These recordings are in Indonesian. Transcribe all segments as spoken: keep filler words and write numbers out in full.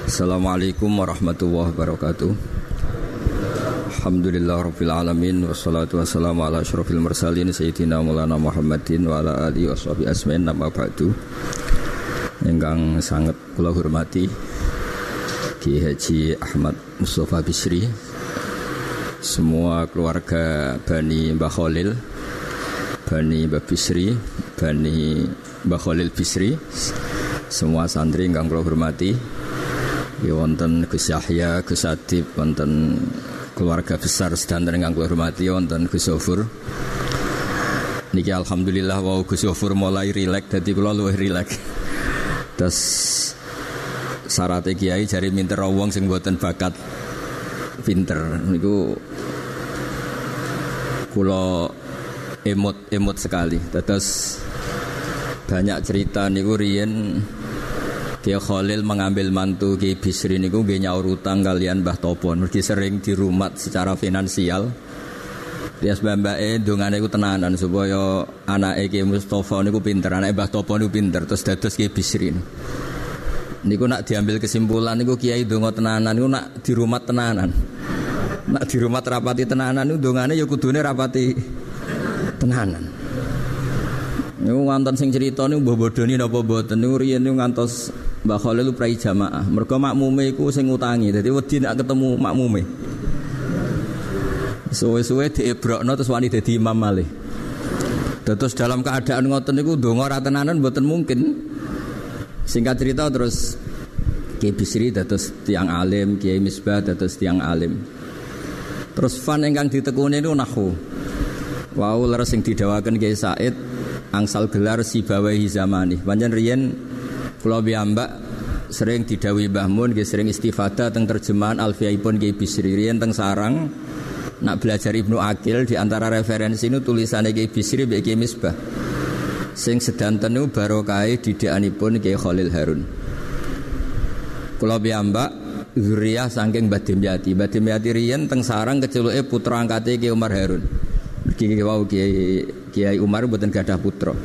Assalamualaikum warahmatullahi wabarakatuh. Alhamdulillah rabbil alamin wassalatu wassalamu ala asyrofil mursalin sayyidina maulana Muhammadin wa ala alihi washabihi asmain nama ba'du. Ingkang sangat kula hormati Ki Haji Ahmad Mustafa Bisri, semua keluarga Bani Mbah Khalil, Bani Mbah Bisri, Bani Mbah Khalil Bisri, semua santri ingkang kula hormati. Ya wonten Gus Yahya, Gus Adib, wonten keluarga besar sedanten ingkang kula hormati, wonten Gus Zofur. Niki alhamdulillah wau Gus Zofur mulai rileks, dadi kula luwih rileks. Terus syarat kiai jari minter wong sing mboten bakat pinter niku kula emot-emot sekali. Terus banyak cerita niku riyen Kiai Khalil mengambil mantu Kiai Bisri niku nggih nyaur utang kalian Mbah Topon, mergi sering dirumat secara finansial. Tias mbake ndongane iku tenanan supaya anake Kiai Mustofa niku pinter, anake Mbah Topon niku pinter, terus dados Kiai Bisri. Niku nak diambil kesimpulan niku Kiai ndonga tenanan niku nak dirumat tenanan. Nak dirumat rapati tenanan niku ndongane ya kudune rapati tenanan. Niku wonten sing crita niku mbah bodoni napa mboten niku riyen niku ngantos Mbah Khalil prai jamaah. Mergo makmume iku sing ngutangi. Dadi wedi nek ketemu makmume. Suwe-suwe diebrokno terus wani dadi imam malih. Terus dalam keadaan ngoten niku ndonga ra tenanan mboten mungkin. Singkat cerita terus Kiai Bisri dados tiyang alim, Kiai Misbah dados tiyang alim. Terus fan ingkang ditekuni niku nahwu. Wau leres sing didawaken Kiai Said angsal gelar sibawahi zamani. Panjen riyen kula piyambak sering didhawuhi Mbah Mun nggih sering istifadah teng terjemahan Alfiyaipun Kiai Bisri. Riyen teng sarang nak belajar Ibnu Aqil di antara referensi nu tulisane Kiai Bisri mbek Kiai Misbah. Sing sedanten niku barokahe didikanipun Kiai Khalil Harun. Kula piyambak zuriyah saking Mbah Dimyati. Mbah Dimyati riyen teng sarang keceluke putra angkate Kiai Umar Harun. Mergi wau Kiai Kiai Umar mboten gadah putra.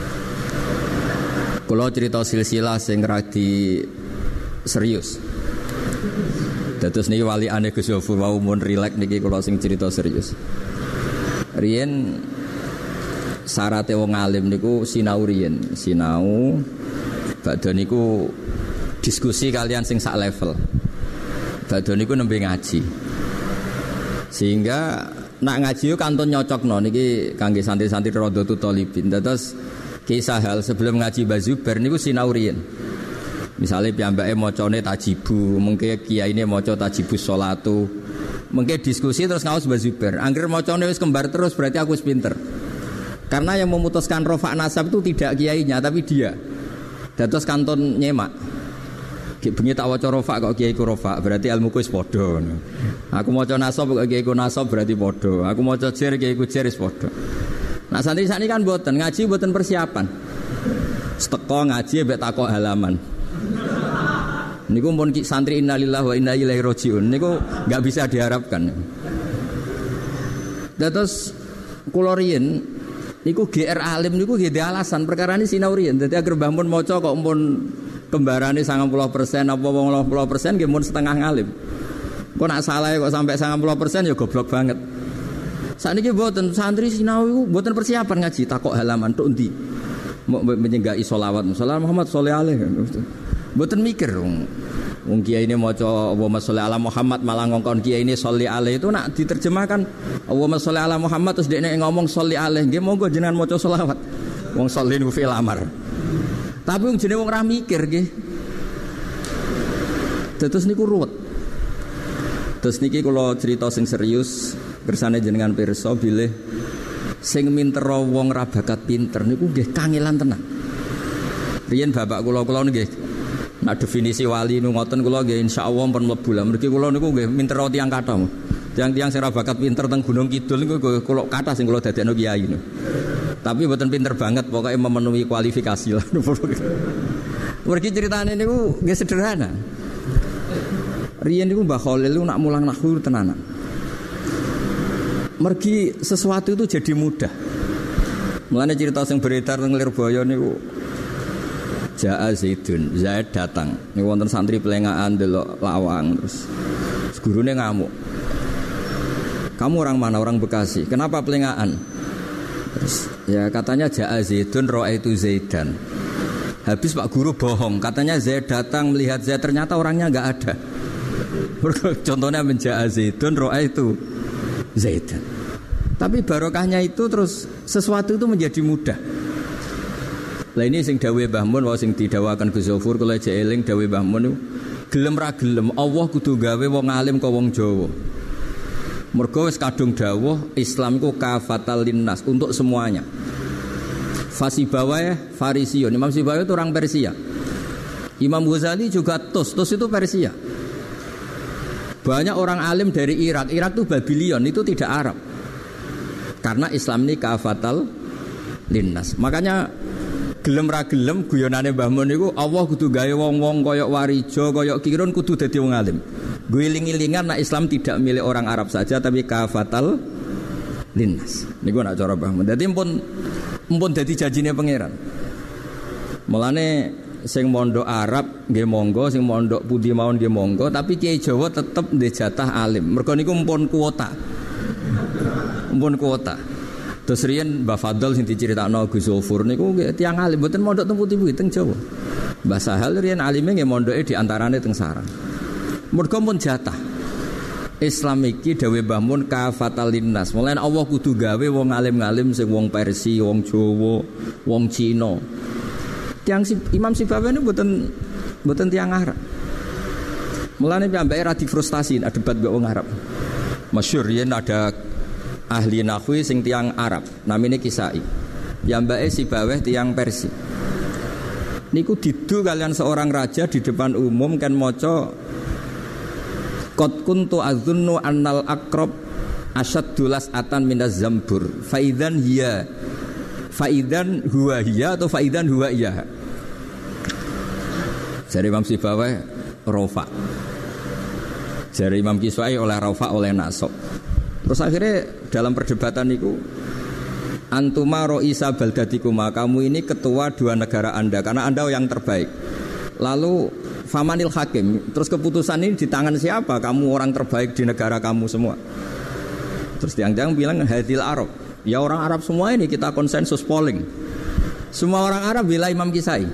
Kula cerita silsilah sing radi serius. Dados niki walikane Gus Zofur wau mun rileks niki kula sing cerita serius. Riyen syaraté wong alim niku sinau riyen, sinau badhe niku diskusi kalian sing sak level. Badhe niku nembe ngaji. Sehingga nak ngaji yo kantun nyocokno niki kangge santri-santri Radhatul Thalibin. Terus kisah hal sebelum ngaji Mbah Zubair niku sinau riyen. Misale piyambake macane tajibu, mengke kiyaine maca tajibus sholatu. Mengke diskusi terus ngaos Mbah Zubair. Angger macane wis kembar terus berarti aku wis pinter. Karena yang memutuskan rofa nasab itu tidak kiainya tapi dia. Dados kantun nyemak. Bengi tak waca rofa kok kiai ku rofa berarti ilmuku wis padha. Aku maca nasab kok kiai ku nasab berarti padha. Aku maca jer kiai ku jer wis padha. Nah santri sakniki kan mboten ngaji mboten persiapan. Seteko ngaji mbek takok halaman. Niku pun santri innalillahi wa inna ilaihi rajiun niku enggak bisa diharapkan. Terus kula riyen niku G R alim niku nggih alasan perkara ini sinau riyen. Dadi agar Mbah Mun maca kok pun kembarane sembilan puluh persen apa delapan puluh persen nggih mun setengah ngalim. Kok nak salah kok sampai sembilan puluh persen ya goblok banget. Sakniki mboten santri sinau iku mboten persiapan ngaji takok halaman tok endi. Mau menyenggai sholawat Muhammad Muhammad sholli alaihi. Mboten mikir wong wong kiai ini maca Allahumma sholli ala Muhammad malah ngongkon kiai ini sholli alaihi itu nak diterjemahkan Allahumma sholli ala Muhammad terus dekne ngomong sholli alaihi nggih monggo jenengan maca sholawat. Wong sholli niku fi'il amar. Tapi wong jenenge wong ora mikir nggih. Terus niku ruwet. Terus niki kula cerita sing serius kersane jenengan pirsa bilih sing mintera wong ra bakat pinter niku nggih kangelan tenan. Riyen bapak kula kula nggih nek definisi wali nu ngoten kula nggih insyaallah pun mlebu lah. Mriki kula niku nggih mintera tiyang kathah. Tiang-tiang sing ra bakat pinter teng Gunung Kidul niku kula kathah sing kula dadekno kiai niku. Tapi mboten pinter banget pokoknya memenuhi kualifikasi lah. Mriki critane niku nggih sederhana. Riyen niku Mbah Khalil nak mulang nahwu tenanan. Mergi sesuatu itu jadi mudah. Mulane cerita sing beredar teng Lirboyo niku Ja'a Zaidun, Zaid datang. Ini wonten santri pelengahan delok lawang terus gurune ngamuk. Kamu orang mana? Orang Bekasi. Kenapa pelengahan? Terus ya katanya Ja'a Zaidun ra'aitu Zaidan. Habis Pak Guru bohong, katanya Zaid datang melihat Zaid, ternyata orangnya enggak ada. Contohnya menja'a Zaidun ra'aitu Zaidan. Tapi barokahnya itu terus sesuatu itu menjadi mudah. Lah ini sing dawuh Mbah Mun wae sing didawakan Gus Zofur kula jeeling dawuh Mbah Mun gelem ra gelem Allah kudu gawe wong alim ka wong Jawa. Mergo wis kadung dawuh Islam iku kafatal linnas untuk semuanya. Fasibawai Farisiun, Imam Sibawai itu orang Persia. Imam Ghazali juga Tus, Tus itu Persia. Banyak orang alim dari Irak, Irak itu Babylon, itu tidak Arab. Karena Islam ini kafatal linnas. Makanya gelem ra gelem guyonane Mbah Mun niku Allah kudu gawe wong-wong koyok Warijo, koyok Kirun kudu dadi wong alim. Guling-ilingan nek Islam tidak milik orang Arab saja tapi kafatal linnas. Niku nak cara Mbah Mun. Dadi pun mpun dadi janjine pangeran. Mulane sing mondok Arab nggih monggo, sing mondok pundi mawon nggih monggo, tapi Kiai Jawa tetep ndek jatah alim. Mergo niku mpun kuota. Mpun kuota. Terus riyen Mbah Fadl sing diceritakno Gus Zofur niku tiyang alim mboten mondok teng pundi-pundi teng Jawa. Mbah Sahal riyen alime nggih mondoke di antarane teng Sarang. Mergo pun jatah. Islam iki dawuh Mbah Mun kafatal linnas. Mulane Allah kudu gawe wong alim-alim sing wong Persia, wong Jawa, wong Cina. Tiang si, Imam Sibawai niku mboten mboten tiyang Arab. Mulane piyambake ra difrustasi nek debat mbek wong Arab. Masyhur yen ada ahli nahwi sing tiang Arab, namine Kisai. Piyambake Sibawai tiang Persia. Niku didu kalian seorang raja di depan umum kan maca qad kuntu adzunnu annal aqrab asyaddulas atan minaz zambur faidan hiya faidan huwa hiya atau faidan huwa iya. Jari Imam Sibawai rofa, jari Imam Kisai oleh rofa oleh nasab. Terus akhirnya dalam perdebatan itu antuma ro'isa baldatikuma, kamu ini ketua dua negara anda karena anda yang terbaik. Lalu famanil hakim, terus keputusan ini di tangan siapa? Kamu orang terbaik di negara kamu semua. Terus tiang-tiang bilang hadil Arab, ya orang Arab semua ini kita konsensus polling. Semua orang Arab bila Imam Kisai.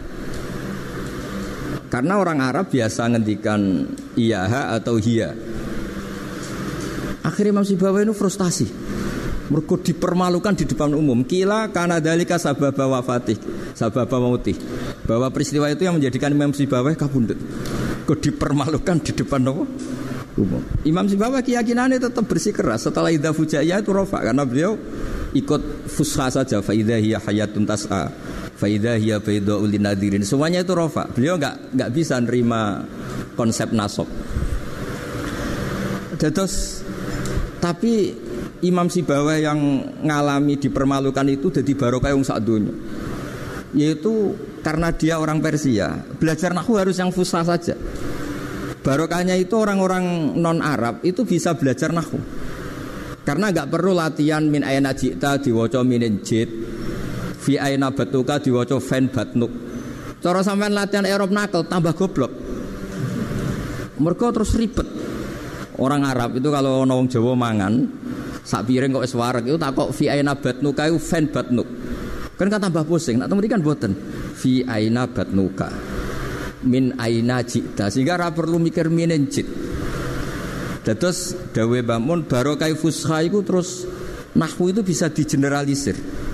Karena orang Arab biasa ngendikan iyaha atau hiya. Akhirnya Imam Sibawai itu frustasi. Mergo dipermalukan di depan umum. Kila kana dalika sababa wafatih, sababa mautih. Bahwa peristiwa itu yang menjadikan Imam Sibawai kabundut. Kok dipermalukan di depan apa? Umum. Imam Sibawai keyakinannya tetap bersikeras. Setelah idza fujaiyah itu rofa karena beliau ikut fusha saja. Fa idza hiya hayatun tas'a, fa idza hiya bayda'ul linadirin. Semuanya itu rofa. Beliau enggak enggak bisa nerima konsep nasab. Terus tapi Imam Sibawai yang ngalami dipermalukan itu jadi barokah yang sak dunya. Yaitu karena dia orang Persia, belajar nahwu harus yang fusha saja. Barokahnya itu orang-orang non Arab itu bisa belajar nahwu. Karena enggak perlu latihan min aina jita diwaca minin jid, fi aina batuka diwaca fan batnuk. Cara sampean latihan Arab nakal tambah goblok. Mergo terus ribet. Orang Arab itu kalau ana wong Jawa mangan sak piring kok wis wareg itu tak kok fi aina batnuka iku fan batnuk. Kan kan tambah pusing. Nak temerikan mboten. Fi aina batnuka. Min aina jita. Sehingga ora perlu mikir minin jid. Terus dawuh Mbah Mun barokah fusha iku terus nahwu itu bisa digeneralisir.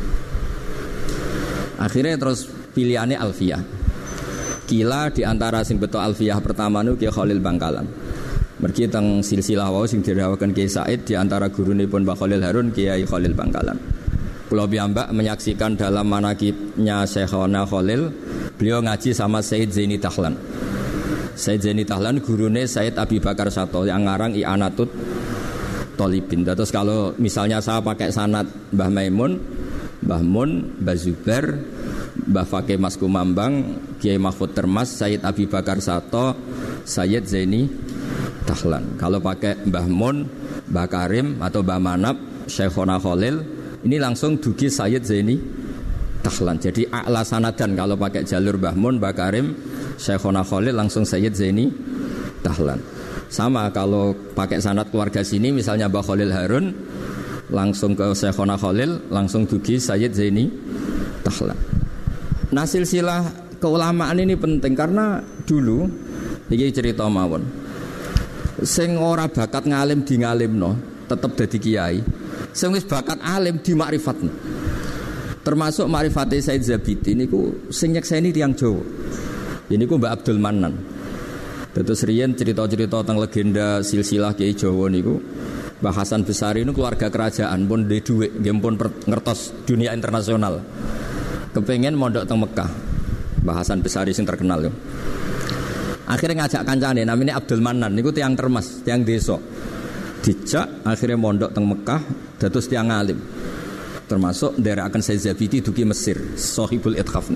Akhirnya terus pilihannya alfiyah. Kila di antara sing beto alfiyah pertama niku Ki Khalil Bangkalan. Mergi teng silsilah wau sing dirawaken Kiai Said di antara gurunipun Mbah Khalil Harun Kiai Khalil Bangkalan. Kula piyambak menyaksikan dalam manaqibnya Syekhona Khalil, beliau ngaji sama Said Zaini Tahlan. Said Zaini Tahlan gurune Said Abi Bakar Sato yang ngarang I'anatut Thalibin. Terus kalau misalnya saya pakai sanad Mbah Maimun, Mbah Mun, Mbah Zubair, Mbah Fakih Mas Kumambang, Kiai Mahfud Termas, Said Abi Bakar Sato, Said Zaini Tahlan. Kalau pakai Mbah Mun, Mbah Karim atau Mbah Manap, Syekhona Khalil, ini langsung dugi Sayyid Zaini Dahlan. Jadi a'la sanadan kalau pakai jalur Mbah Mun, Mbah Karim, Syekhona Khalil langsung Sayyid Zaini Dahlan. Sama kalau pakai sanad keluarga sini misalnya Mbah Khalil Harun langsung ke Syekhona Khalil langsung dugi Sayyid Zaini Dahlan. Nah silsilah keulamaan ini penting karena dulu iki cerita mawon. Sing ora bakat ngalim di ngalimno tetep dadi kiai. Sing wis bakat alim di makrifatno. Termasuk makrifate Said Zabidi niku sing nyekseni tiyang Jawa. Ini ku Mbak Abdul Manan. Terus riyen cerita-cerita tentang legenda silsilah Kiai Jawa niku Mbah Hasan Besari niku keluarga kerajaan pun duwe dhuwit, nggih pun ngertos dunia internasional. Kepengen mondok teng Mekah. Mbah Hasan Besari sing terkenal yo. Akhirnya ngajak kancane namanya Abdul Manan niku tiyang Termas, tiyang desa. Dijak akhirnya mondok teng Mekah dados tiyang alim. Termasuk nderekaken Said Zabidi dugi Mesir, Sahibul Ithaf.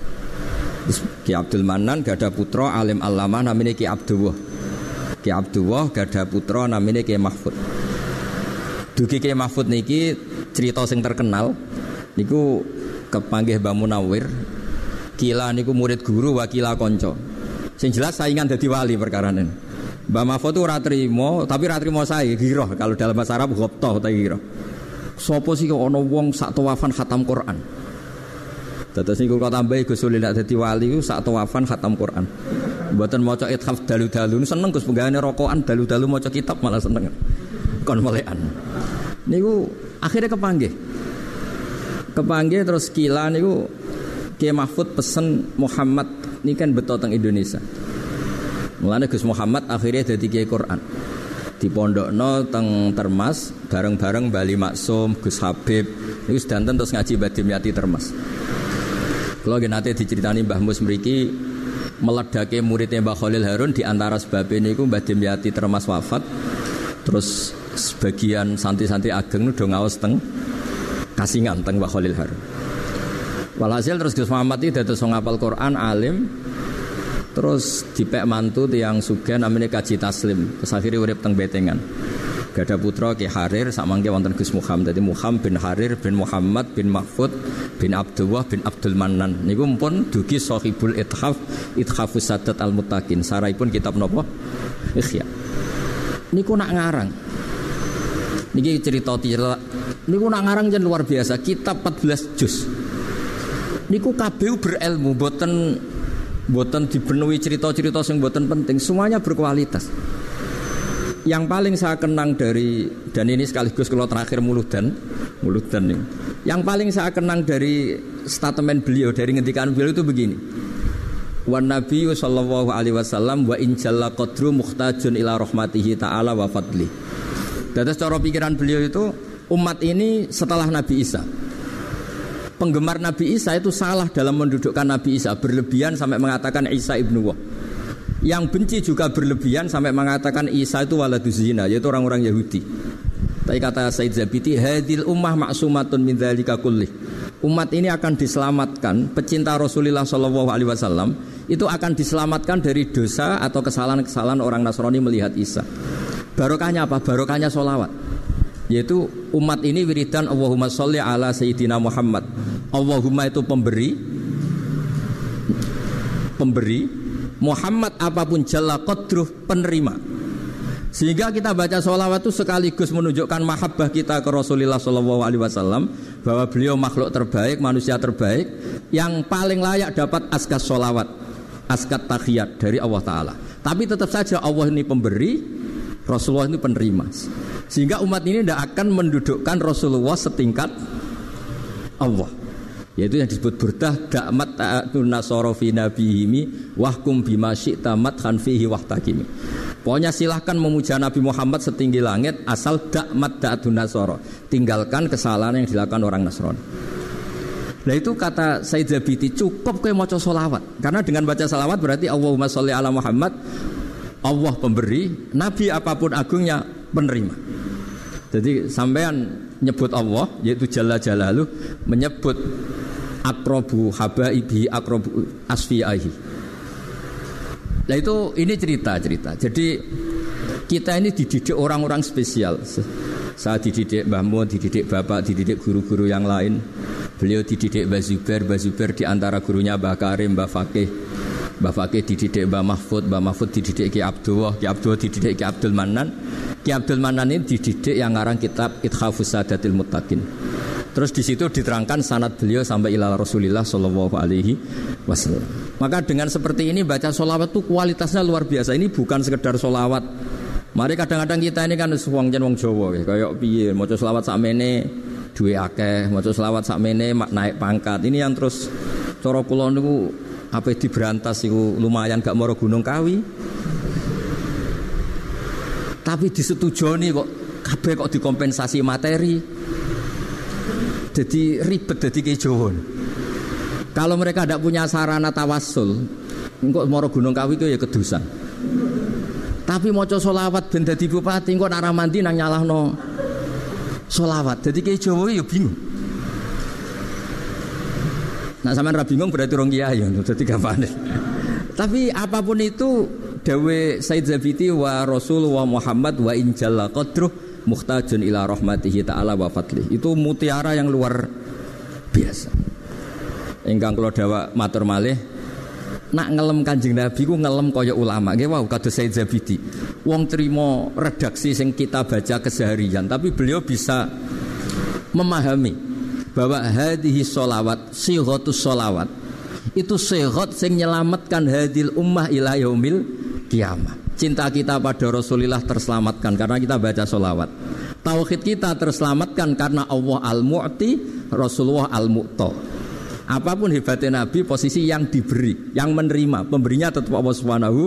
Ki Abdul Manan gada putra alim allamah namanya Ki Abdullah. Ki Abdullah gada putra namanya Ki Mahfud. Dugi Ki Mahfud niki cerita sing terkenal niku kepanggih Mbah Munawir. Kila niku murid guru wakila konco. Sing jelas saingan dadi wali perkarane. Mbah Mahfud itu ora trimo, tapi ora trimo sae giroh kalau dalam bahasa Arab ghabtah ta giroh. Sopo sih kok ana wong sak tawafan khatam Quran. Dados niku kok tambahi Gus Sulil nek dadi wali ku sak tawafan khatam Quran. Mboten maca ithaf dalu-dalu seneng Gus penggane rokokan dalu-dalu maca kitab malah seneng. Kon melekan. Niku akhirnya kepanggih. Kepanggih terus kila niku Kiai Mahfud pesen Muhammad ini kan beto teng Indonesia. Mulane Gus Muhammad akhirnya dadi Kiai Quran. Di pondokno teng Termas bareng-bareng Bali Maksum, Gus Habib niku sedanten terus ngaji Mbah Dimyati Termas. Kula nggih nate diceritani Mbah Mus mriki meledake muridnya Mbah Khalil Harun di antara sebab niku Mbah Dimyati Termas wafat. Terus sebagian santri-santri ageng do ngaos teng Kasingan teng Mbah Khalil Harun. Walhasil terus Gus Muhammad iki dados ngapal Quran alim. Terus dipek mantu tiyang sugih namanya Kaji Taslim. Terus akhirnya urip teng Betengan. Gada putra Ki Harir samangke wonten Gus Muhammad. Dadi Muhammad bin Harir bin Muhammad bin Mahfud bin Abdullah bin Abdul Manan. Niku pun dugi Sahibul Ithaf Ithafus Sadat Al-Muttaqin. Saraipun kitab napa? Ikhya. Niku nak ngarang. Niki cerita-cerita niku nak ngarang jen luar biasa. Kitab empat belas juz. Niku kabeh berilmu, boten boten dipenuhi cerita-cerita yang boten penting, semuanya berkualitas. Yang paling saya kenang dari, dan ini sekaligus kalau terakhir muludan, muludan nih. Yang paling saya kenang dari statement beliau, dari ngendikan beliau itu begini. Wan Nabi sallallahu alaihi wasallam wa in jalla qadru muhtajun ila rahmatihi ta'ala wa fadli. Dan cara pikiran beliau itu umat ini setelah Nabi Isa. Penggemar Nabi Isa itu salah dalam mendudukkan Nabi Isa, berlebihan sampai mengatakan Isa ibnu Wah. Yang benci juga berlebihan sampai mengatakan Isa itu waladuz zina, yaitu orang-orang Yahudi. Tapi kata Said Zabidi, hadil ummah ma'sumatun min dzalika kullih. Umat ini akan diselamatkan, pecinta Rasulullah sallallahu alaihi wasallam itu akan diselamatkan dari dosa atau kesalahan-kesalahan orang Nasrani melihat Isa. Barokahnya apa? Barokahnya sholawat. Yaitu umat ini wiridan Allahumma sholli ala Sayyidina Muhammad. Allahumma itu pemberi, pemberi, Muhammad apapun jalla qadruh penerima. Sehingga kita baca sholawat itu sekaligus menunjukkan mahabbah kita ke Rasulullah sallallahu alaihi wasallam, bahwa beliau makhluk terbaik, manusia terbaik yang paling layak dapat askas sholawat, askat tahiyat dari Allah Ta'ala. Tapi tetap saja Allah ini pemberi, Rasulullah ini penerima. Sehingga umat ini tidak akan mendudukkan Rasulullah setingkat Allah. Yaitu yang disebut burdah da'mat ta'atun nasara fi nabihimi wahkum bima syi'ta madhan fihi wahtakimi. Pokoknya silahkan memuja Nabi Muhammad setinggi langit asal da'mat ta'atun nasara. Tinggalkan kesalahan yang dilakukan orang Nasrani. Nah itu kata Said Zabidi, cukup kowe maca sholawat. Karena dengan baca sholawat berarti Allahumma sholli ala Muhammad, Allah pemberi, Nabi apapun agungnya penerima. Jadi sampean nyebut Allah, yaitu Jalla Jalaluh, menyebut akrobu habaibi akrobu asfiyahi. Nah itu ini cerita-cerita. Jadi kita ini dididik orang-orang spesial. Saya dididik Mbah Mun, dididik Bapak, dididik guru-guru yang lain. Beliau dididik Mbah Zubair, Mbah Zubair di antara gurunya Mbah Karim, Mbah Fakih. Mbah Fakih dididik Mbah Mahfud, Mbah Mahfud dididik Ki Abdullah, Ki Abdullah dididik Ki Abdul Manan. Ki Abdul Manan ini dididik yang ngarang kitab Ithafus Sadatil Muttaqin. Terus di situ diterangkan sanad beliau sampai ila Rasulillah sallallahu alaihi wasallam. Maka dengan seperti ini baca sholawat itu kualitasnya luar biasa. Ini bukan sekedar sholawat. Mari kadang-kadang kita ini kan wong jen wong Jawa kayak piye maca sholawat sakmene duwe akeh, maca selawat sakmene naik pangkat. Ini yang terus cara kula niku ape diberantas iku lumayan gak maro Gunung Kawi. Tapi disetujoni kok kabeh kok dikompensasi materi. Jadi ribet dadi ki Jawa. Kalau mereka tidak punya sarana tawassul, engko maro Gunung Kawi itu ya kedusan. Tapi maca selawat ben dadi bupati engko nek mandi nang nyalahno solawat, jadi kayak Jawa ya bingung. Nah sampean ra bingung berarti rong kiai ya, jadi gampang. Tapi apapun itu, dawe Said Zabiti wa Rasul wa Muhammad wa injalla qadruh muhtajun ila rahmatihi ta'ala wa fadlih. Itu mutiara yang luar biasa. Ingkang kula dawa matur malih, nak ngelem Kanjeng Nabi ku ngelem kaya ulama. Nggih wau kados Said Zabidi. Wong trimo redaksi sing kita baca keseharian, tapi beliau bisa memahami bahwa hadhihi sholawat, sighatus sholawat itu sighat sing nyelamatkan hadil ummah ila yaumil kiamah. Cinta kita pada Rasulullah terselamatkan karena kita baca sholawat. Tauhid kita terselamatkan karena Allah al-Mu'ti, Rasulullah al-Mu'ta. Apapun hebatnya Nabi, posisi yang diberi, yang menerima, pemberinya tetap Allah Subhanahu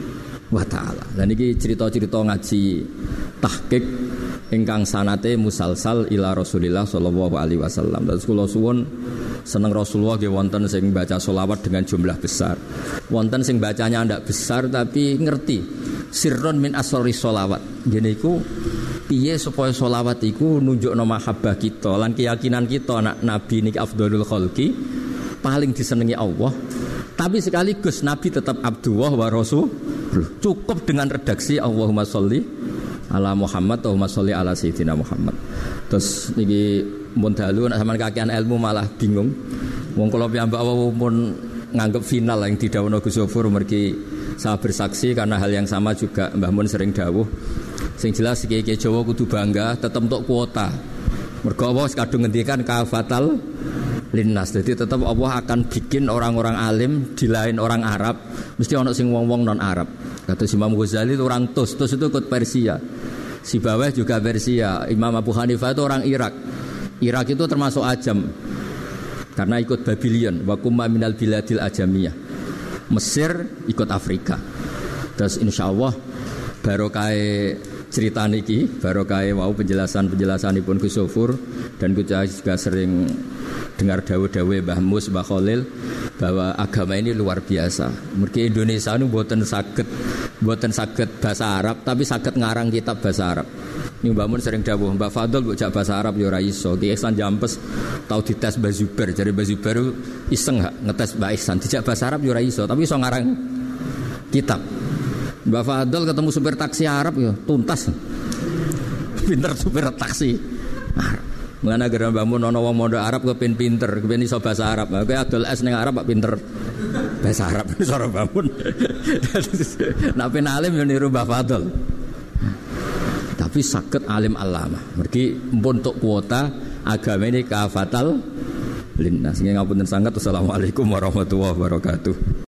wa ta'ala. Dan ini cerita-cerita ngaji tahqiq ingkang sanate musalsal ila Rasulillah sallallahu alaihi wasallam. Terus kula suwun seneng Rasulullah nggih wonten sing baca selawat dengan jumlah besar. Wonten sing bacanya ndak besar tapi ngerti sirron min asrori selawat. Ngene iku piye supaya selawat iku nunjukno mahabbah kita lan keyakinan kita anak Nabi niki afdhalul khalqi, paling disenengi Allah. Tapi sekaligus Nabi tetap Abdullah wa Rasul. Cukup dengan redaksi Allahumma sholli ala Muhammad, Allahumma sholli ala Sayyidina Muhammad. Terus niki mun dalu nek sampean kakean ilmu malah bingung. Wong kula piyambak pun nganggep final yang didhawuhna Gus Zofur mergi saya bersaksi karena hal yang sama juga Mbah Mun sering dawuh. Sing jelas iki Jawa kudu bangga tetep entuk kuota. Mergo Allah kadung ngendikan kafatal linnas. Jadi tetap Allah akan bikin orang-orang alim di lain orang Arab, mesti ono sing wong-wong non Arab. Kata Imam Ghazali itu orang Tus, Tus itu ikut Persia. Si Baweh juga Persia. Imam Abu Hanifah itu orang Irak. Irak itu termasuk Ajam karena ikut Babylon. Wa kumma minal biladil ajamiyah. Mesir ikut Afrika. Terus insyaallah barokah cerita niki, barokah wau penjelasan-penjelasanipun Gus Zofur dan kita juga sering dengar dawuh-dawuh Mbah Mus, Mbah Khalil bahwa agama ini luar biasa. Mergi Indonesia nu mboten saged mboten saged bahasa Arab tapi saged ngarang kitab bahasa Arab. Ini Mbah Mun sering dawuh, Mbah Fadl mbok jak bahasa Arab ya ora iso. Ki Ihsan Jampes tau dites Mbah Zubair, jare Mbah Zubair iseng gak ngetes Mbah Ihsan dijak bahasa Arab ya ora iso, tapi iso ngarang kitab. Mbah Fadl ketemu supir taksi Arab ya tuntas. Pinter supir taksi Arab. Mulane gara Mbah Mun ana wong mondok Arab kepen pinter, kepen iso bahasa Arab. Kowe adol es ning Arab kok pinter bahasa Arab iso Mbah Mun. Nek pen alim yo niru Mbah Fadl. Tapi saged alim alamah. Mergi mpun tuk kuota agama ini kafatal linnas. Ngapunten sangat. Wassalamualaikum warahmatullahi wabarakatuh.